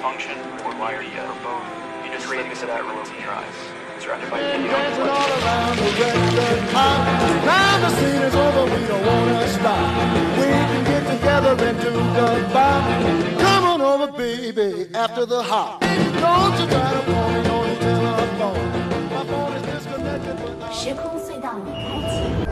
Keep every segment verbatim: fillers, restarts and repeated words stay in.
function or why are you or both? You just create into that routine. Surrounded by dancing all around the record hop. Now the scene is over, we don't wanna stop. We can get together and do the bop. Come on over, baby, after the hop. Don't you try to call me on the telephone. My phone is disconnected, but now... 时空隧道已开启。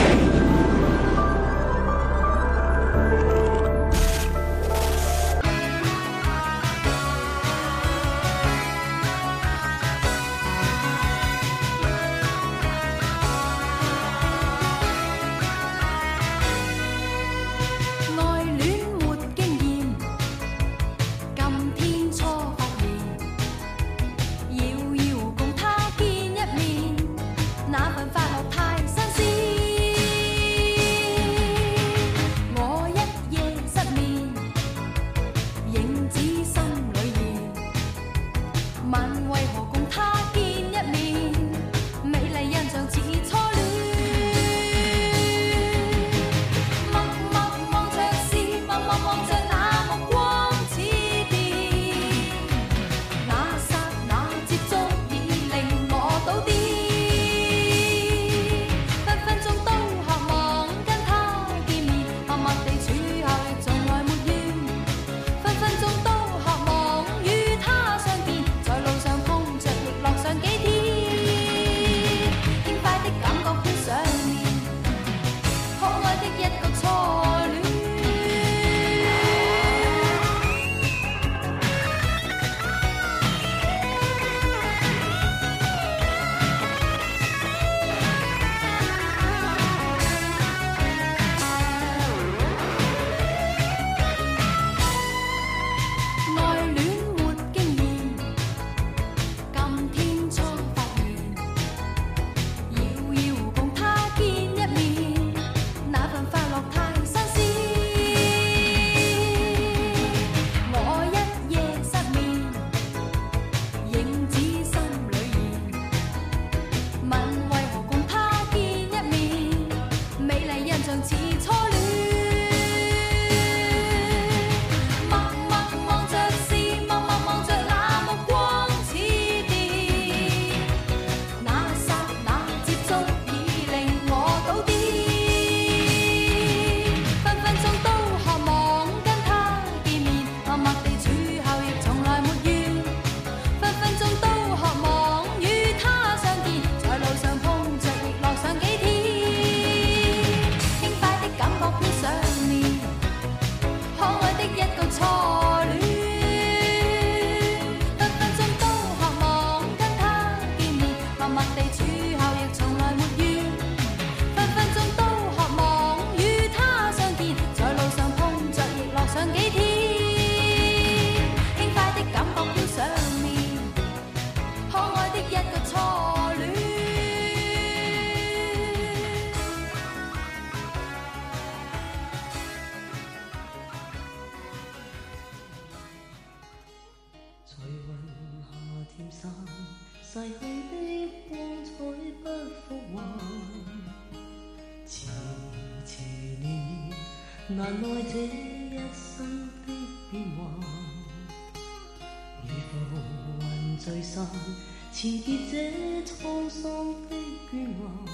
逝去的光彩不复還，遲遲年難耐這一生的變幻，如浮雲聚散，纏結這滄桑的倦顏。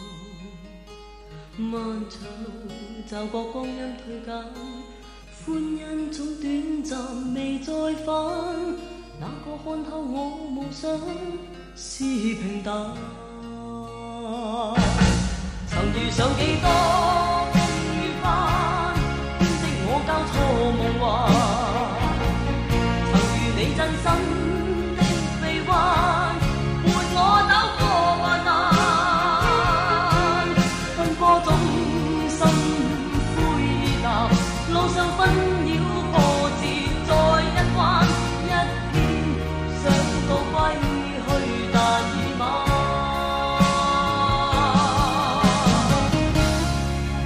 漫長路驟覺光陰退減，歡欣總短暫未再返，那個看透我夢想是平淡，曾遇上幾多風雨翻，編織我交錯夢幻，曾遇你真心的臂彎，伴我走過患難，奔波中心灰意淡，路上紛擾波折再一彎，一天想到歸但已晚，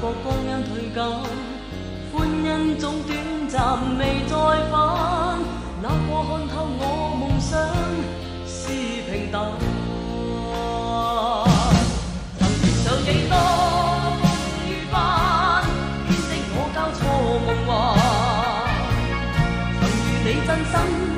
覺光陰退減，歡欣總短暫未再返。那個看透我夢想是平淡，曾遇上幾多風雨翻，編織我交錯夢幻。曾遇你真心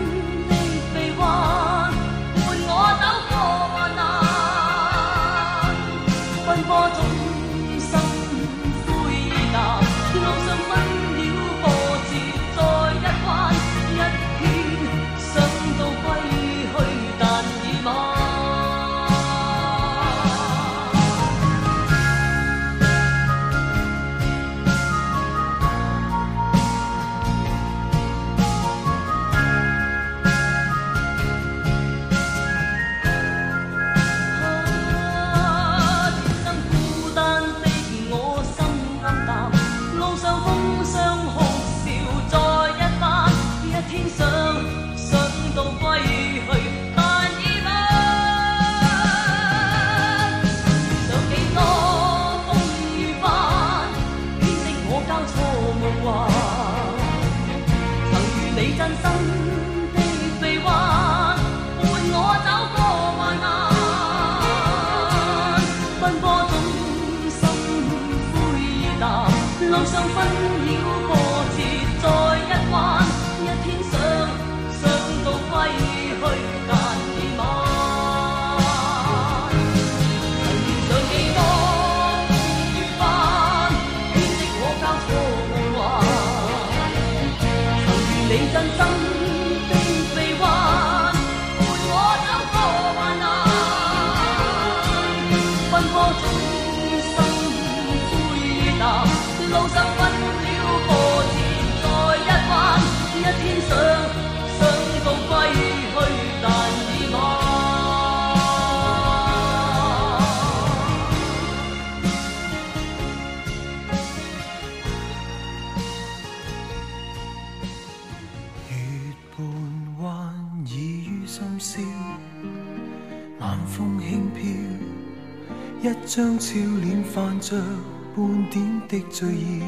一張俏臉泛着半點的醉意，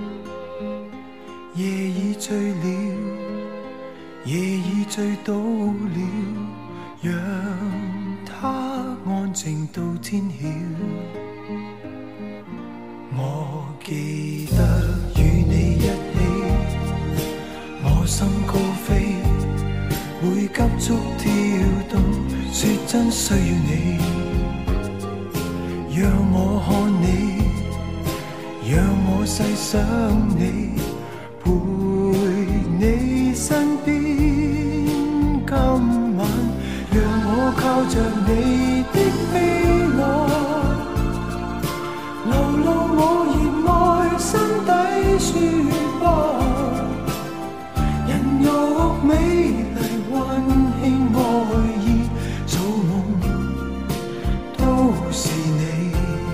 夜已醉了，夜已醉倒了，讓它安靜到天曉。我記得與你一起，我心高飛，會急速跳動，說真需要你。讓我看你，讓我細想你，陪你身邊。今晚讓我靠着你的臂膀，流露我熱愛心底説話，人肉美麗溫馨愛意，做夢都是你。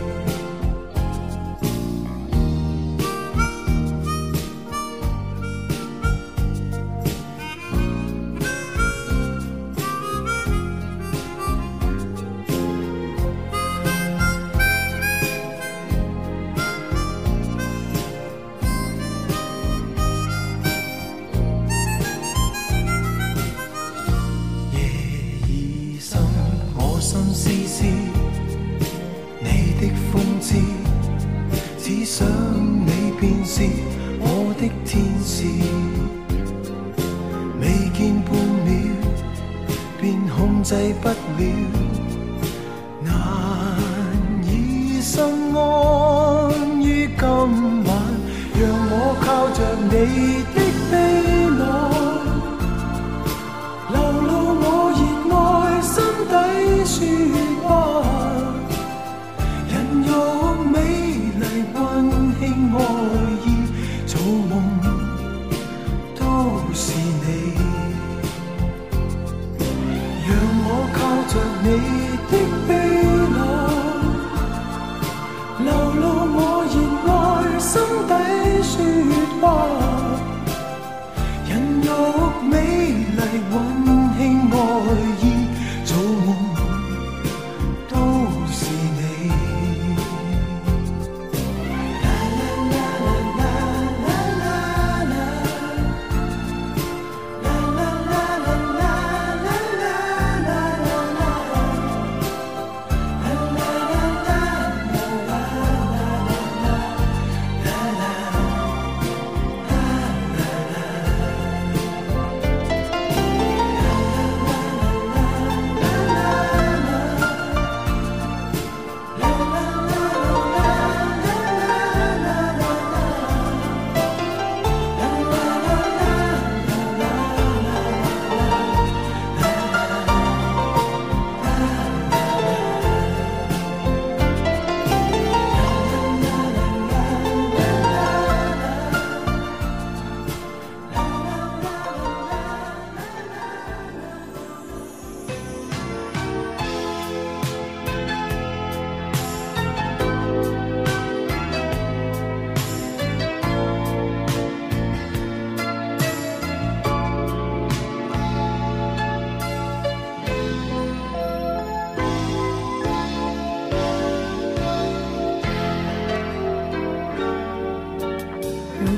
制不了，難以心安於今晚。讓我靠着你的臂膀，流露我熱愛心底説話，人肉美麗溫馨愛意，做夢都是你。靠着你的臂膀，流露我熱愛心底説話，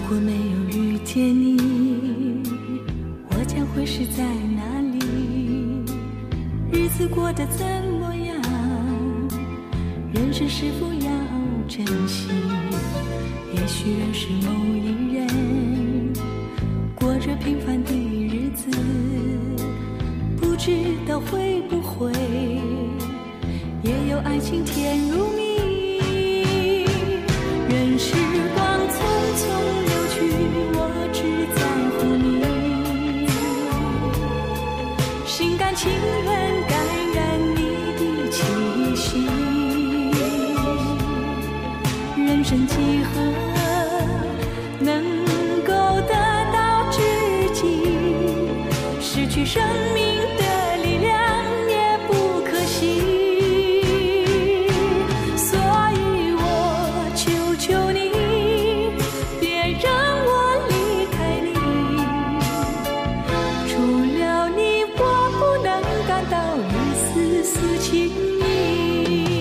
果没有遇见你，我将会是在哪里？日子过得怎么样？人生是否要珍惜？也许认识某一人，过着平凡的日子，不知道会不会也有爱情甜如蜜。任时光匆匆流去，我只在乎你，心甘情愿感染你的气息。人生几何能够得到知己？失去生命的力量也不可惜。所以我求求你，别让我离开你。除了你，我不能感到一丝丝情意。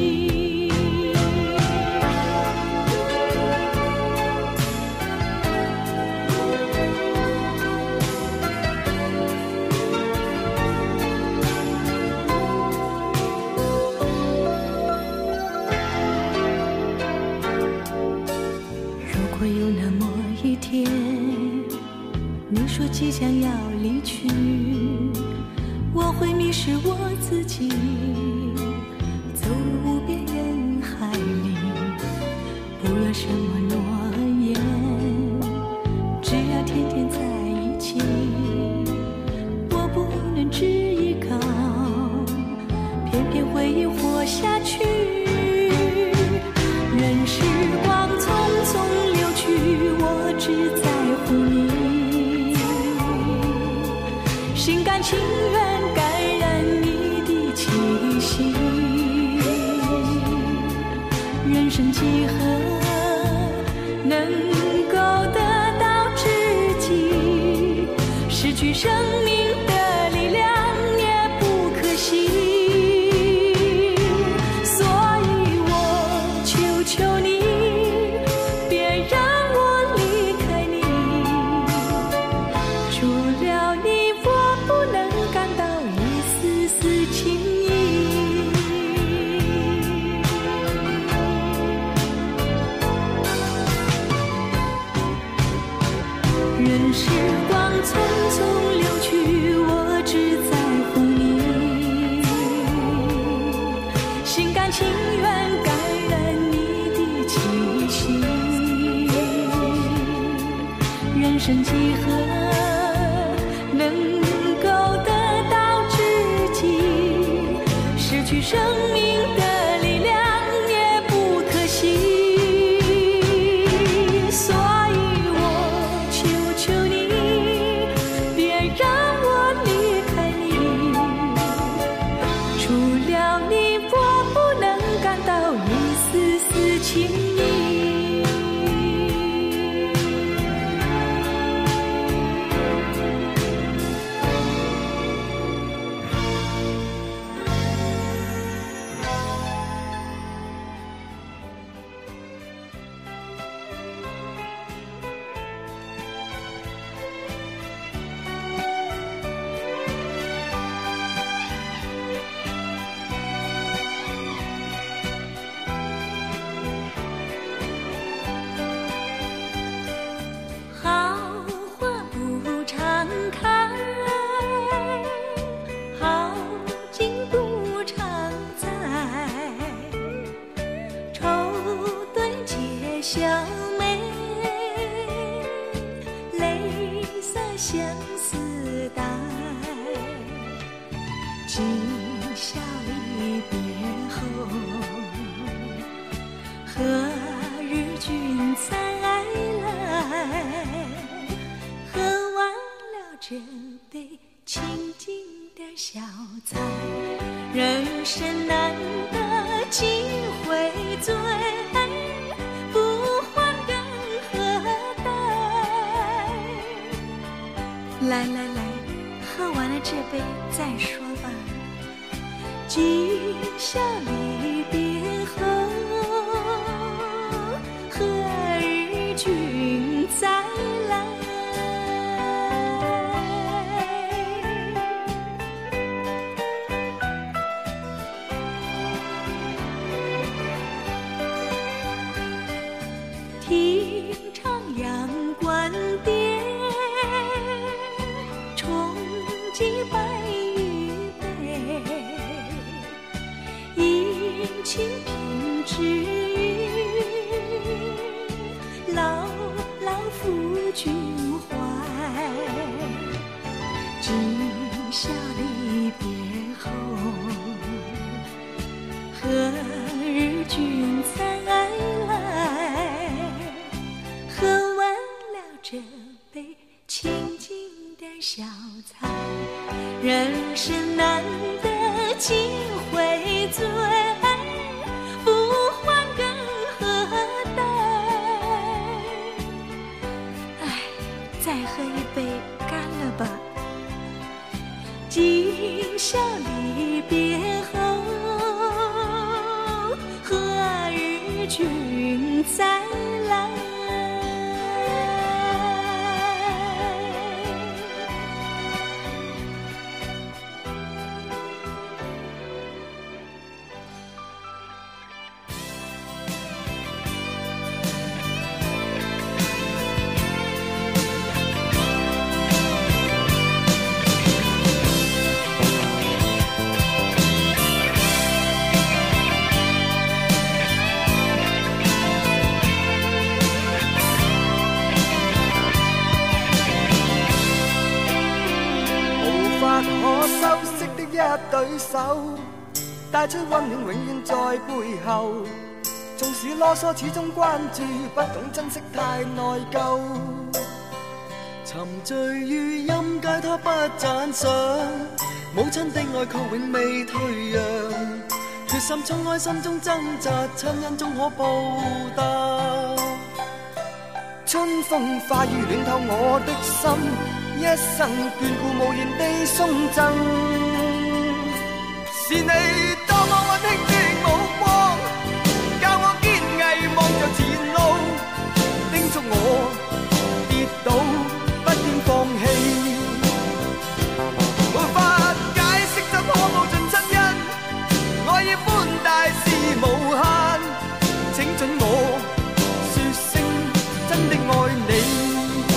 如果有那么一天，你说即将要离去，我会迷失我自己，走入无边人海里。不论什么诺言，只要天天在一起，我不能只依靠，偏偏回忆活下去。任时光匆匆流去，我只在乎你，心甘情愿感染你的气息。人生几何能够得到知己？失去生命的力量也不可惜。所以我求求你，别让我离开你。除了你，我不能感到一丝丝情意。任时光匆匆流去，我只在乎你，心甘情愿感染你的气息。人生几何能够得到知己？失去生命的力量也不可惜。所以我求求你，别让我离开你。除了你，我不能感到一丝丝情意。好花不常开，好景不常在，愁对解笑眉，泪洒相思带。今宵离别后，何日君再来？喝完了这杯清静的小菜，人生难得几回醉，不还更何待？来来来，喝完了这杯再说吧。今宵离别后，何日君再听徜徉观点，冲击白玉杯，饮清平之语，牢牢抚君怀。今宵离别后，何日君才来？喝完了这杯清静的小菜，人生难得几回醉，不欢更何待？哎，再喝一杯，干了吧！今宵离别后，何日君再来？ 一對手，帶出溫暖永遠在背後。縱使囉嗦，始終關注，不懂珍惜太內疚。沉醉於音階，他不讚賞。母親的愛卻永未退讓，決心衝開心中掙扎，親恩終可報答。春風化雨暖透我的心，一生眷顧無言地送贈。是你多麼溫馨的目光，教我堅毅望着前路，叮囑我跌倒不應放棄。沒法解釋怎可報盡親恩，愛意寬大是無限，請准我說聲真的愛你。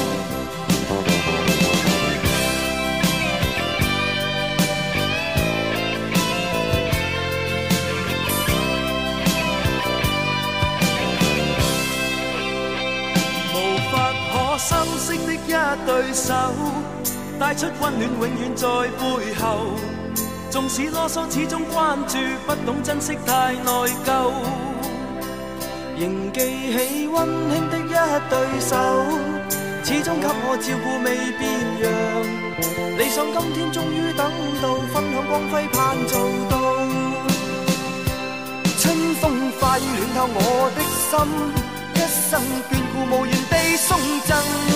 相識的一對手，帶出溫暖永遠在背後。縱使囉嗦，始終關注，不懂珍惜太內疚。仍記起溫馨的一對手，始終給我照顧未變樣。理想今天終於等到，分享光輝盼做到。春風化雨暖透我的心，一生眷顧無言地送贈。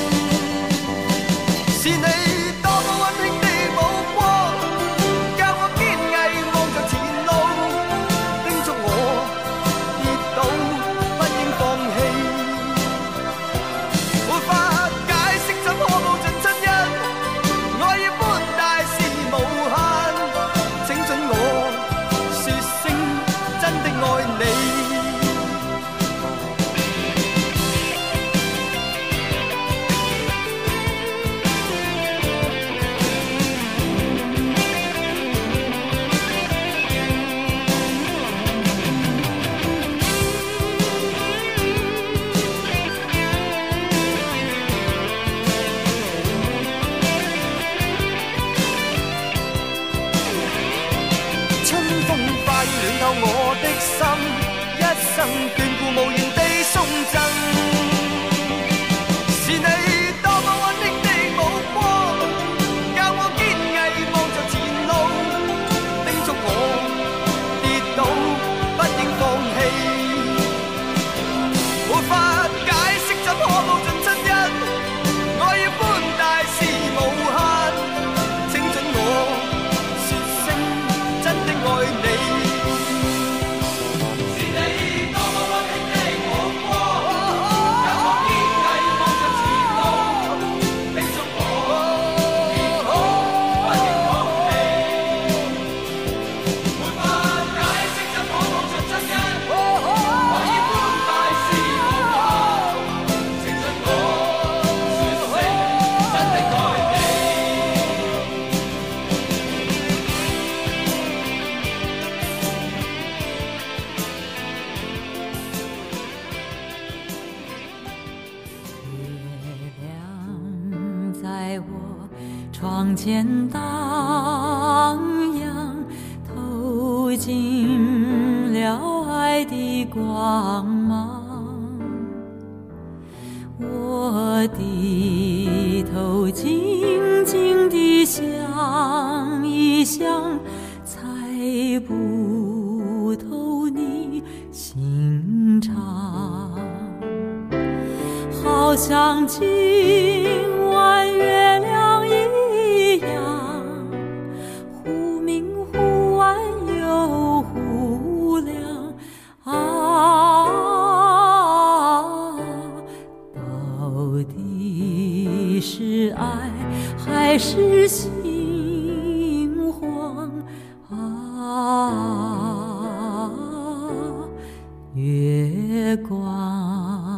是你多麼溫馨的目光，教我堅毅望着前路，叮囑我跌倒不應放棄。沒法解釋怎可報盡親恩，愛意寬大是無限，請准我說聲真的愛你。 在我窗前荡漾，透进了爱的光芒。我低头静静地想一想，猜不透你心肠。好像今晚月亮一样，忽明忽暗又忽亮啊，到底是爱还是心慌啊？月光。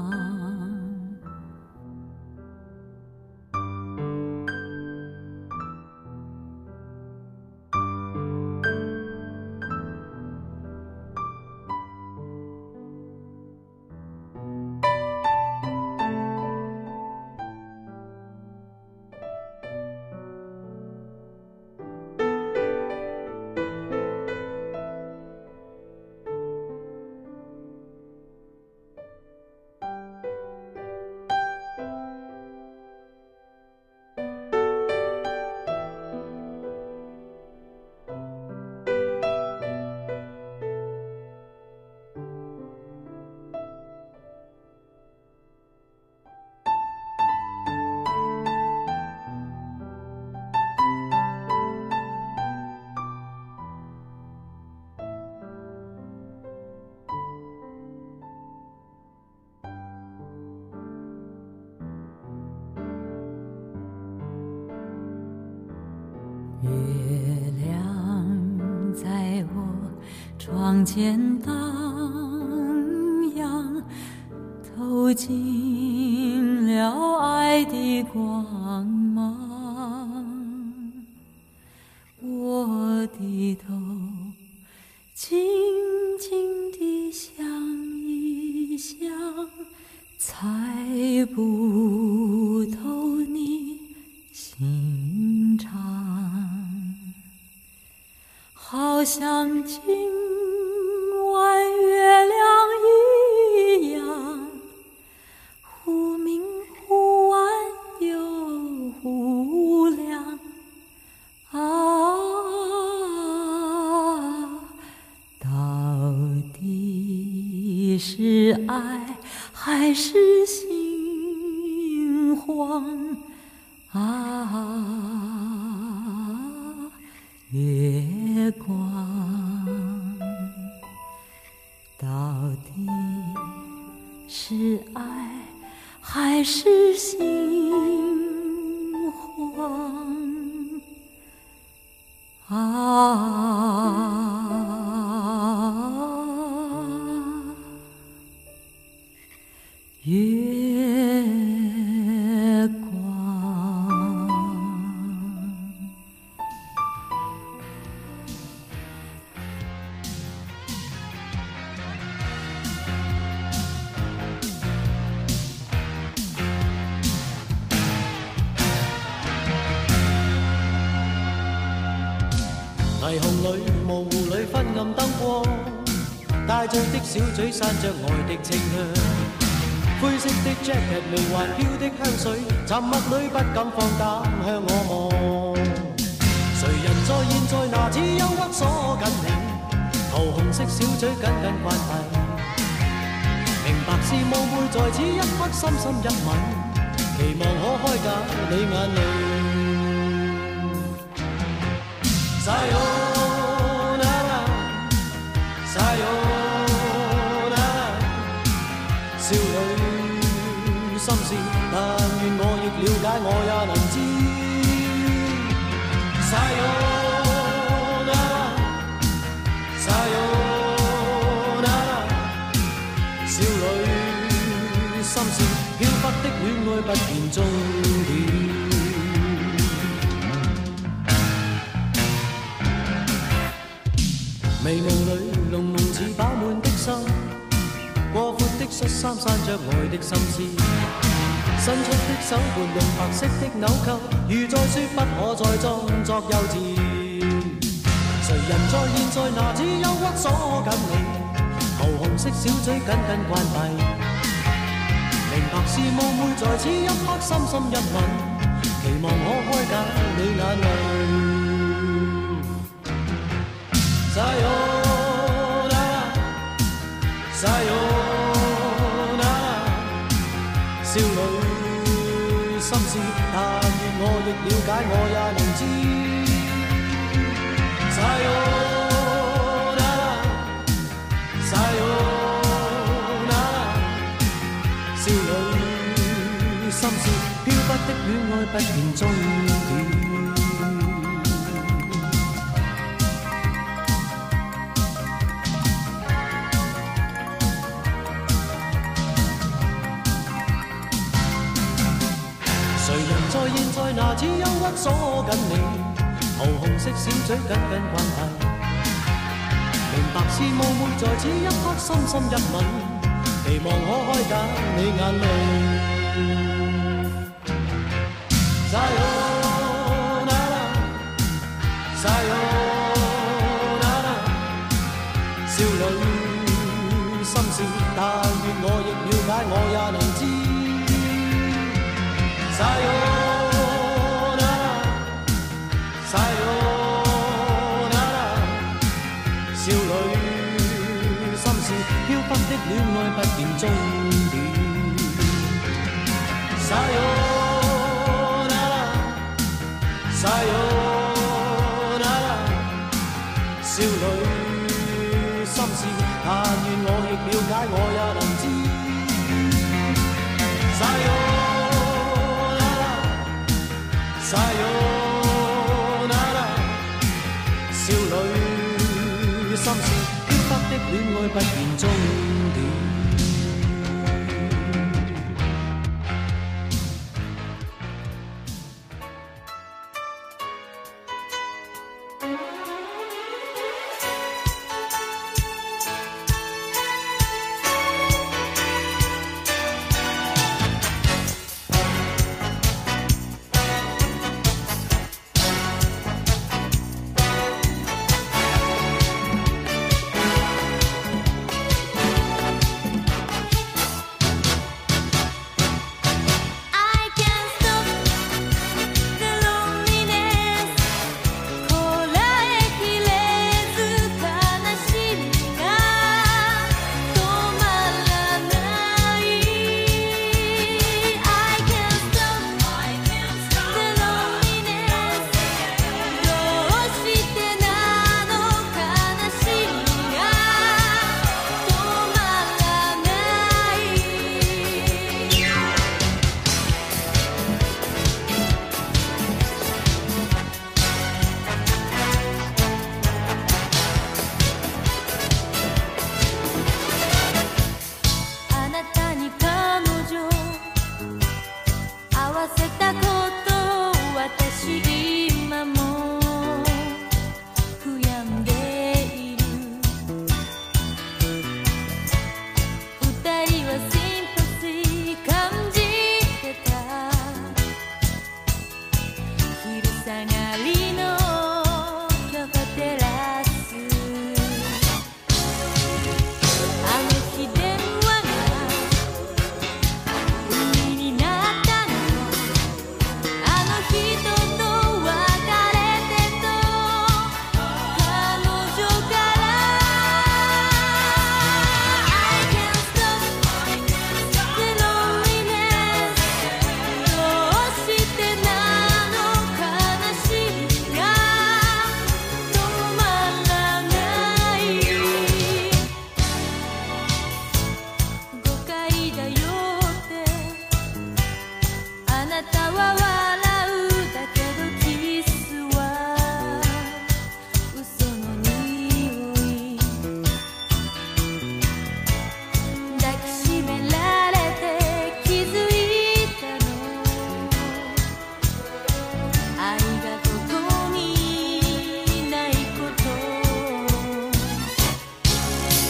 月亮在我窗前荡漾，透进了爱的光芒。我低头静静地想一想，猜不透你心肠。好像今晚月亮一样，忽明忽暗又忽亮啊，到底是爱还是心慌啊？月光，到底是爱还是心慌啊？月霓虹里模糊里昏暗燈光，帶醉的小嘴散着愛的清香，灰色的 jacket 微環飄的香水，沉默裏不敢放膽向我望。誰人在現在拿此憂鬱鎖緊你，桃紅色小嘴緊緊關閉，明白是夢會在此一刻深深一吻，期望可開解你眼淚。Sayonara, sayonara， 少女心事，但願我亦了解，我也能知。Sayonara, sayonara， 少女心事，飄忽的戀愛不見終點。眉毛裏濃濃似飽滿的心，過闊的恤衫散着愛的心思， 伸出的手撥弄白色的紐扣，如再說不可再裝作幼稚。誰人在現在拿此憂鬱鎖緊你，桃紅色小嘴緊緊關閉。明白是夢會在此一刻深深一吻，期望可開解你眼淚。Sayonara, sayonara， 少女心事，但願我亦了解，我也能知。Sayonara, sayonara， 少女心事，飄忽的戀愛不見終點。在現在拿此憂鬱鎖緊你，桃紅色小嘴緊緊關閉。明白是夢會在此一刻深深一吻，期望可開解你眼淚。Sayonara, sayonara， 少女心事，但願我亦了解，我也能知。Sayonara, sayonara， 少女心事，飄忽的戀愛不見終點。Sayonara, sayonara， 少女心事，但願我亦了解，我也能知。Sayonara Sayonara， 少女心事，飄忽的戀愛不見終點。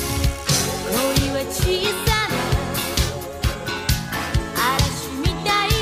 小さな嵐みたい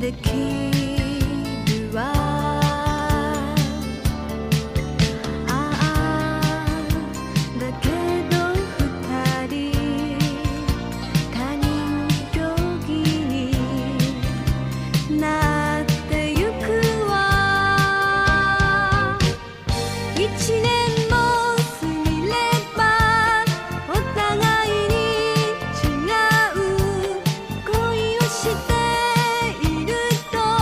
できるわああだけど二人他人行儀になってゆくわ一年も過ぎればお互いに違う恋をしていると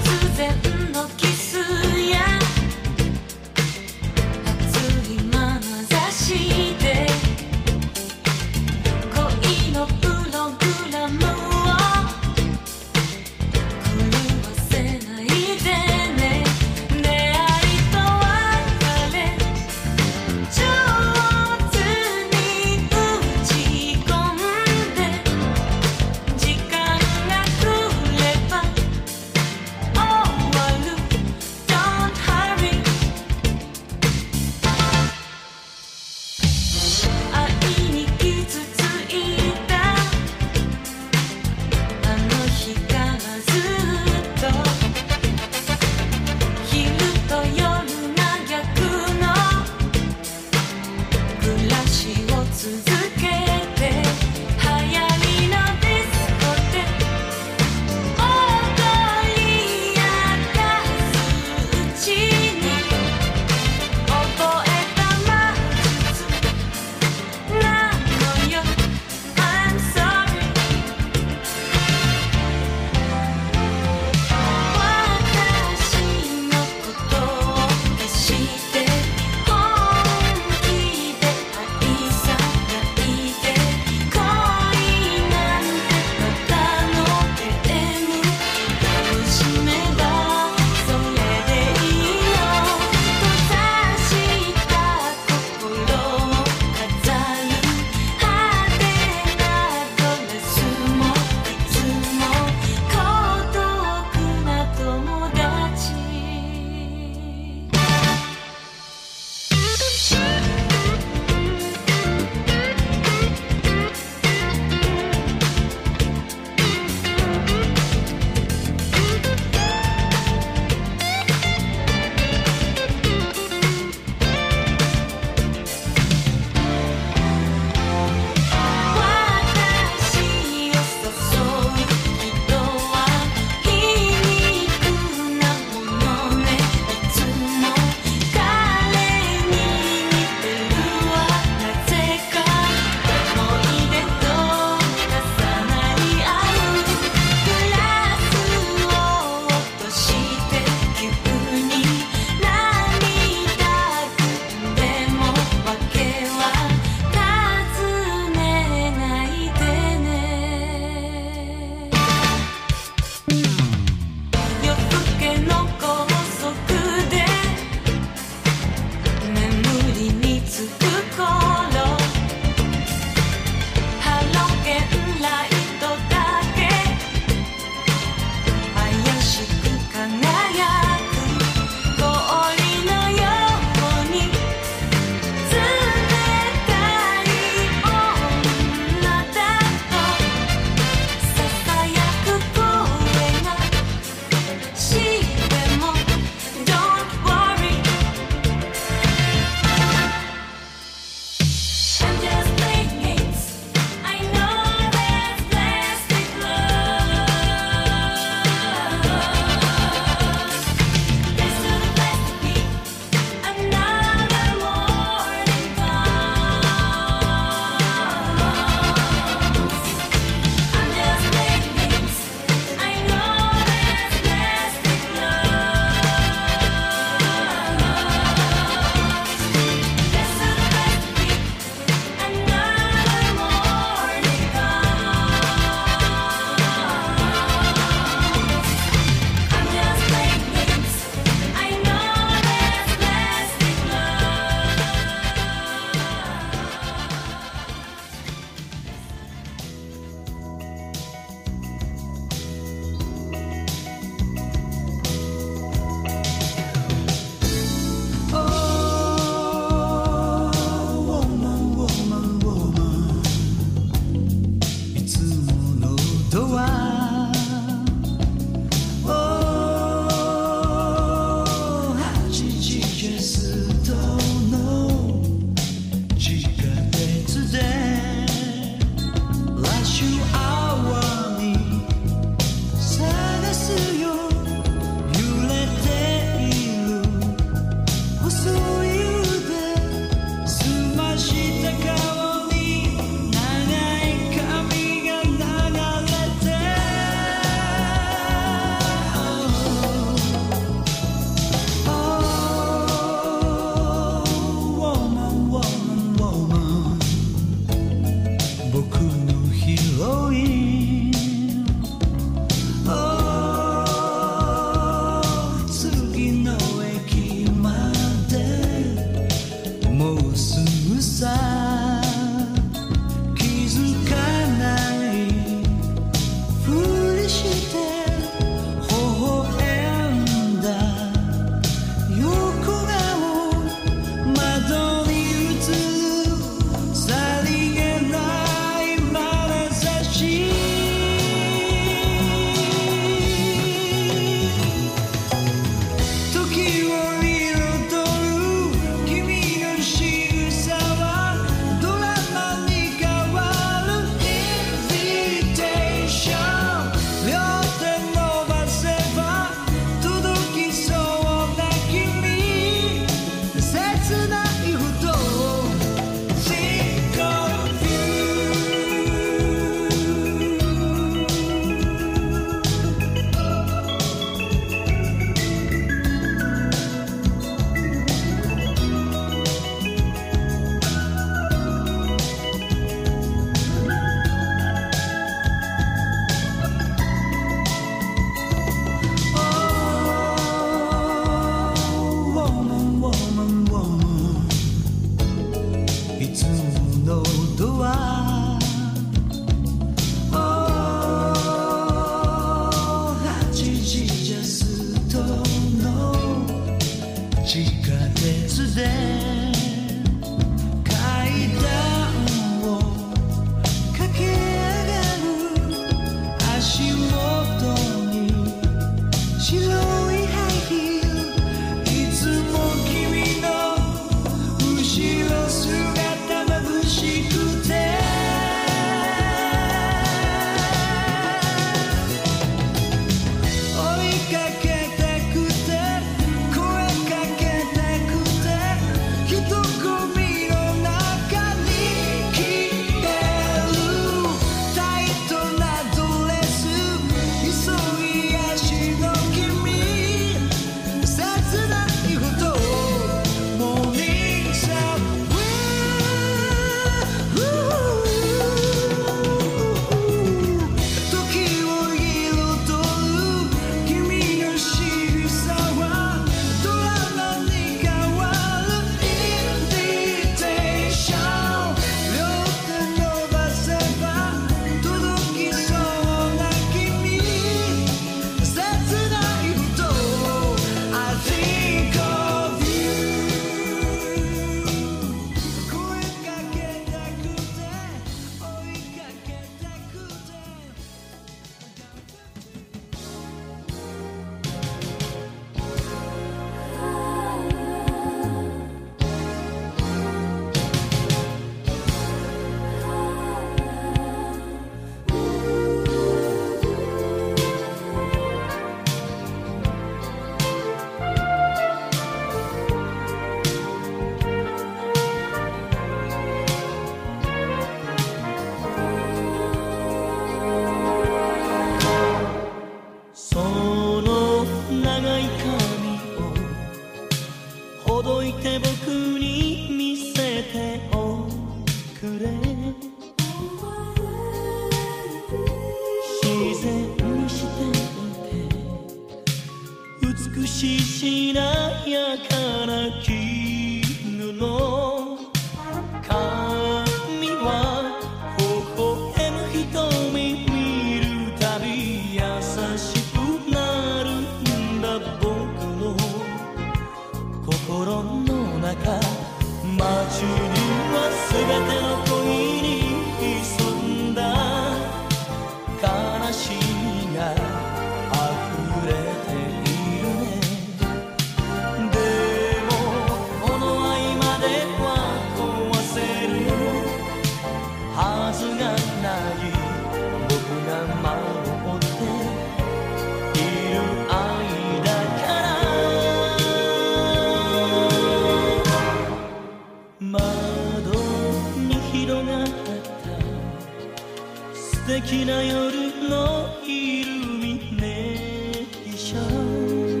敵な夜のイルミネーション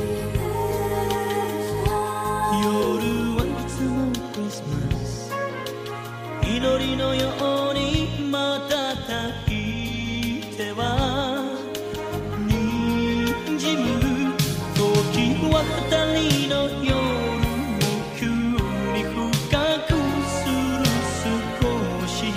夜はいつもクリスマス祈りのように瞬いては滲む時は二人の夜を急に深くする少し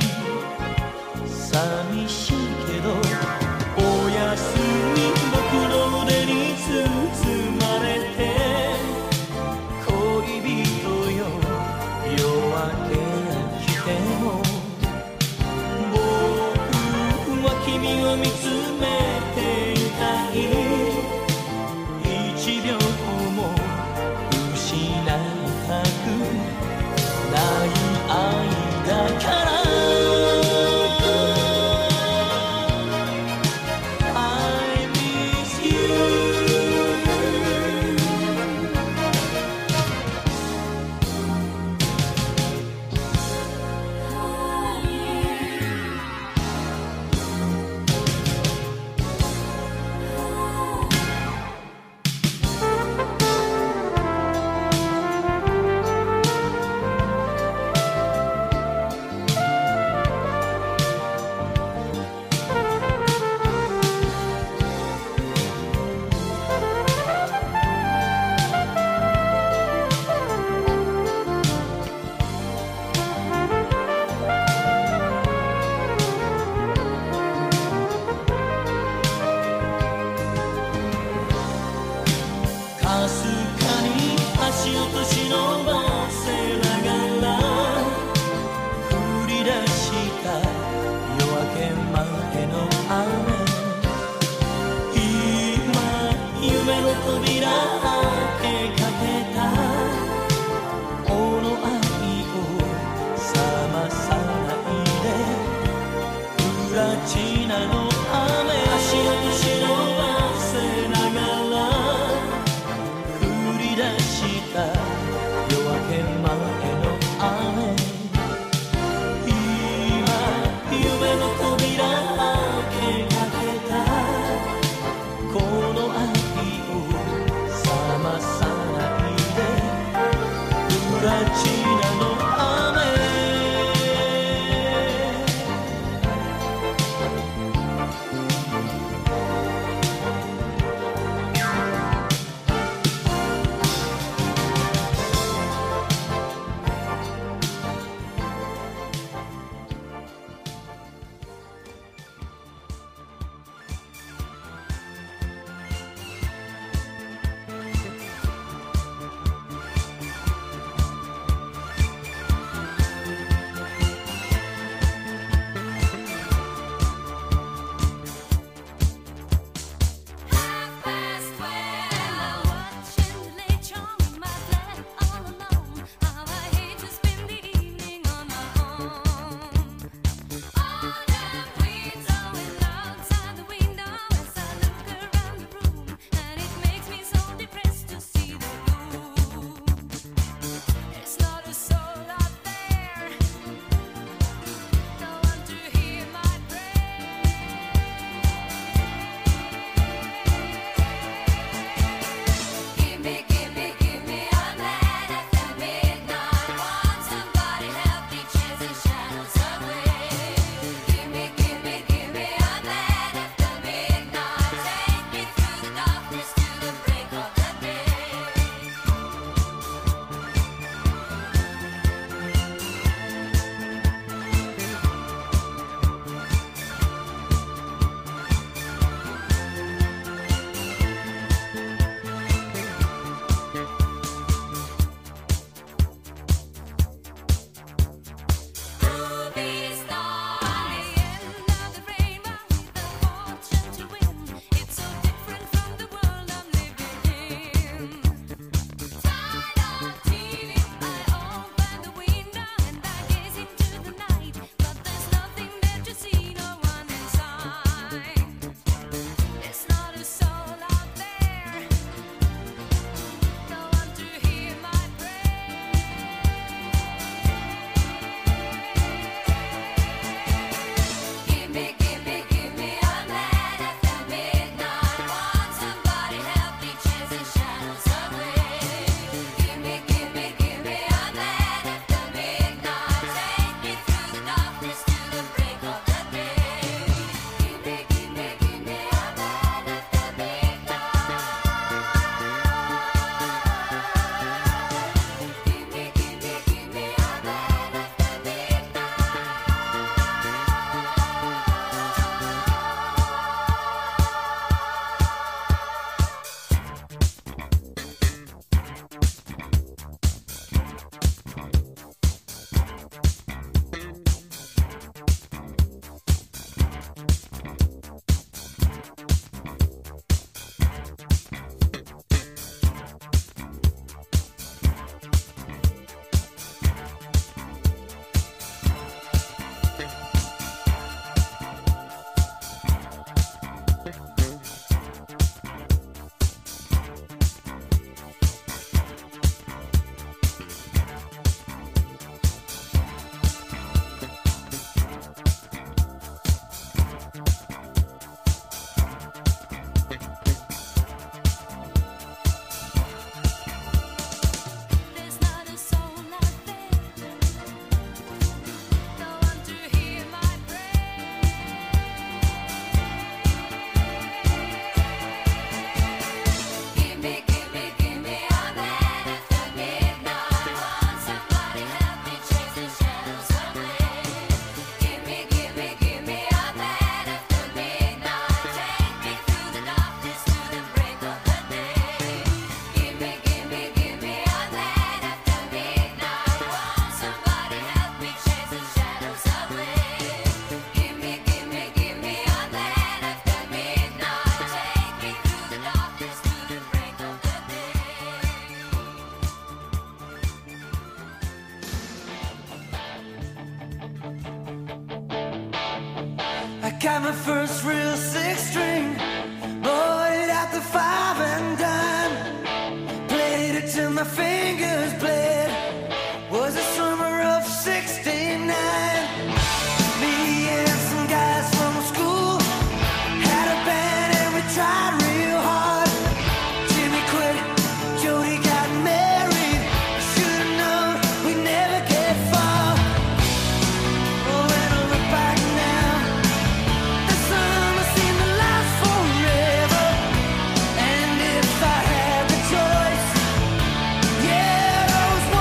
寂しいけどおやすみ僕の腕に包まれて恋人よ夜明けが来ても僕は君を見つめていたい一秒も失いたくない愛だから I miss you かすかに足を年伸ばせながら降り出した夜明け前の雨今夢の扉開けかけたこの愛を冷まさないでプラチナの雨足を年伸ばせながら出した夜明け前の雨今夢の扉開けかけたこの愛を冷まさないでプラチナの雨 Got my first real six string, bought it at the five and dime. Played it till my fingers bled. Was the summer of sixty-nine. Me and some guys from school had a band and we tried real hard. Jimmy quit, Jody got married. Should've known we'd never get far. Oh, when I look back now, the summer seemed to last forever. And if I had the choice, yeah, those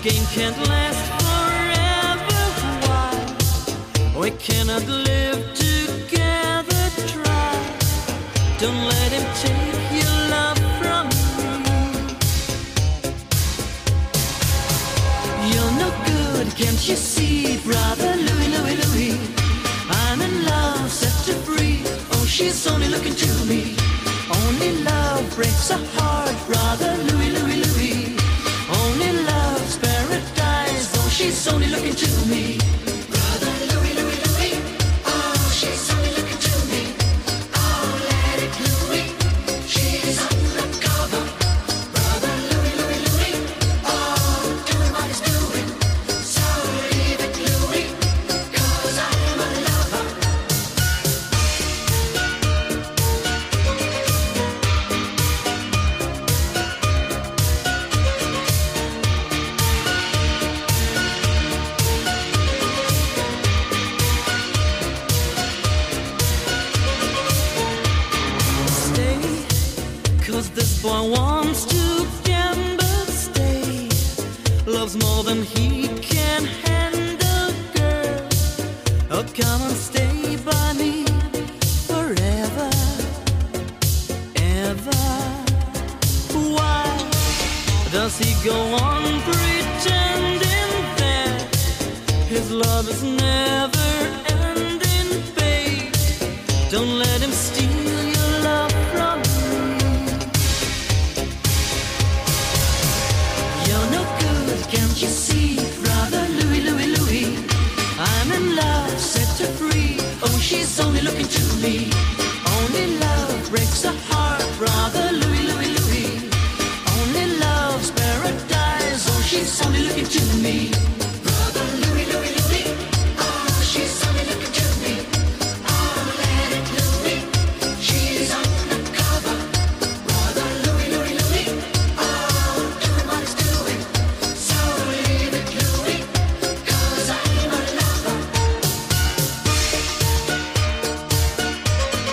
game can't last forever. Why we cannot live together? Try. Don't let him take your love from me. You're no good, can't you see, brother Louis, Louis, Louis? I'm in love, set her free. Oh, she's only looking to me. Only love breaks a heart, brother Louis, Louis, Louis. Only love's paradise. Oh, she's only looking to me. Brother Louis, Louis, Louis. Oh, she's only looking to me. Oh, let it Louis. She's undercover. Brother Louis, Louis, Louis. Oh, doing what he's doing. So leave it Louis, 'cause I'm a lover. Stay, 'cause this boy wants to gamble. Stay, loves more than he can handle, girl. Oh, come and stay by me forever, ever. Why does he go on pretending that his love is never ending, babe? Don't let him steal your love from me. You're no good, can't you see, brother Louis, Louis, Louis? I'm in love, set her free. Oh, she's only looking to me. Only love breaks a heart, brother Louis, Louis, Louis. Only love's paradise. Oh, she's only looking to me. Brother Louis, Louis, Louis. Oh, she's only looking to me. Oh, let it Louis. She's undercover. Brother Louis, Louis, Louis. Oh, doing what he's doing. So leave it Louis, 'cause I'm a lover.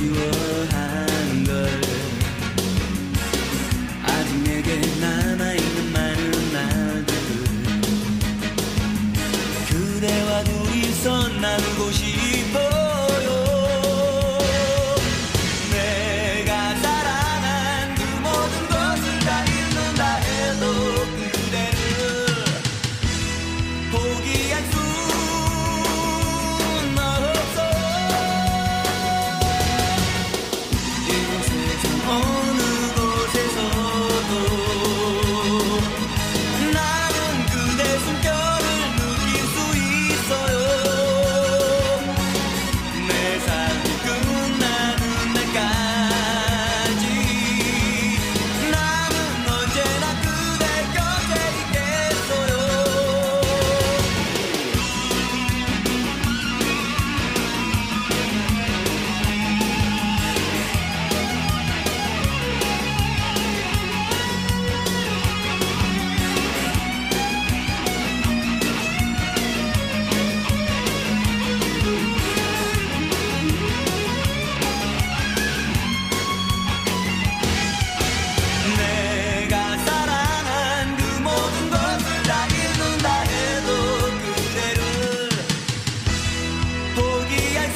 그리워하는 걸 아직 내게 남아있는 많은 말들 그대와 둘이서 나누고 싶어요. 내가 사랑한 그 모든 것을 다 잃는다 해도 그대를 포기할 수는 없어. 이 세상 어느 곳에서도 나는 그대 숨결을 느낄 수 있어요. 내 삶이 끝나는 날까지 나는 언제나 그대 곁에 있겠어요. 내가 사랑한 그 모든 것을 다 잃는다 해도 그대를 포기할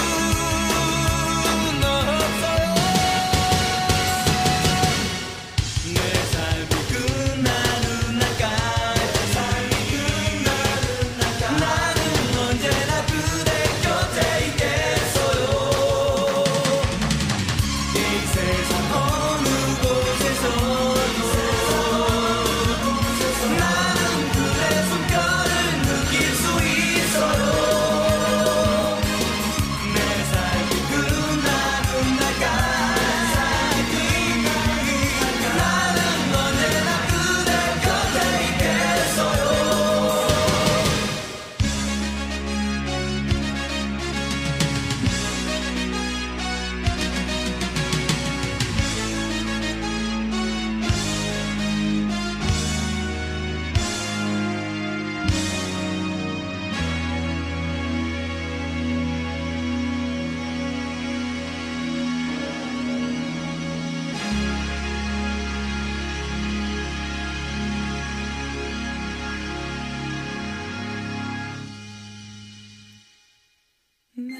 수는 없어요. 내 삶이 끝나는 날까지 나는 언제나 그대 곁에 있겠어요. 이 세상 어느 곳에서도 나는 그대 숨결을 느낄 수 있어요. 내 삶이 끝나는 날까지 나는 언제나 그대 곁에 있겠어요. 내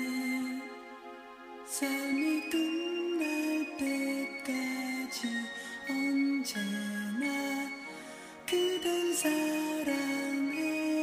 삶이 끝날 때까지 언제나 그댈 사랑해.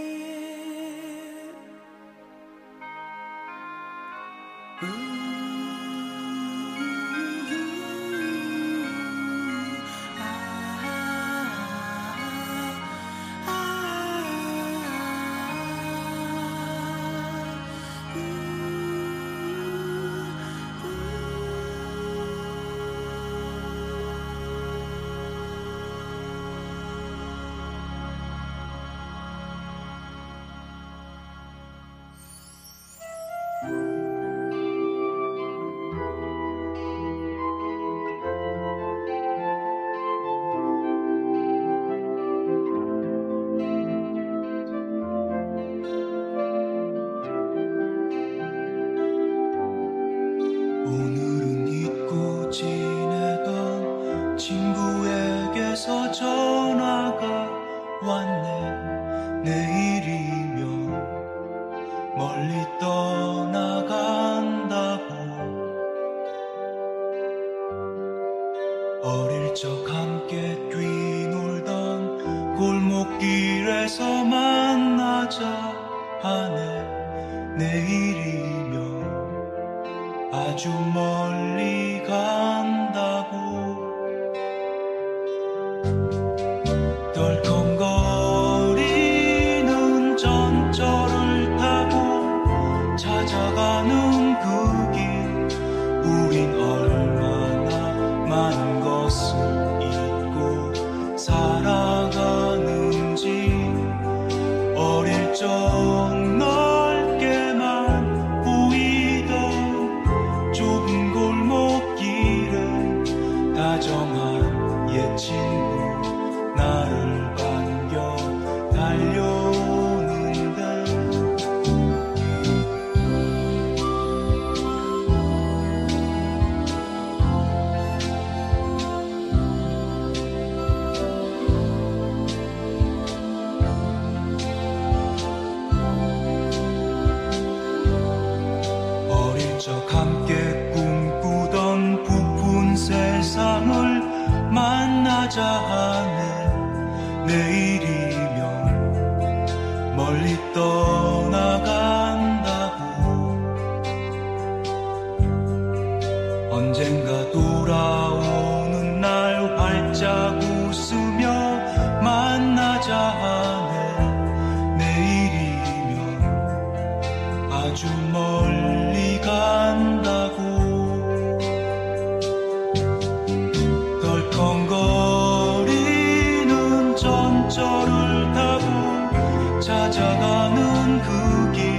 오늘은 잊고 지내던 친구에게서 전화가 왔네. 내일이면 멀리 떠나간다고. 어릴 적 함께 뛰놀던 골목길에서 만나자 하네. 내일이면 아주 멀리 간다고. 덜컹거리는 전철을 타고 찾아가는 그 길, 우린 얼마나 많은 것을 잊고 살아가는지. 어릴 적 넓게만 보이던 좁은 골목길에 다정한 옛 친구 나를 반겨 달려오는데. 하네. 내일이면 멀리 떠나간다고. 언젠가 돌아오는 날 활짝 웃으며 만나자 하네. 내일이면 아주 멀리 간다고. 덜컹거리는 전철을 타고 찾아가는 그 길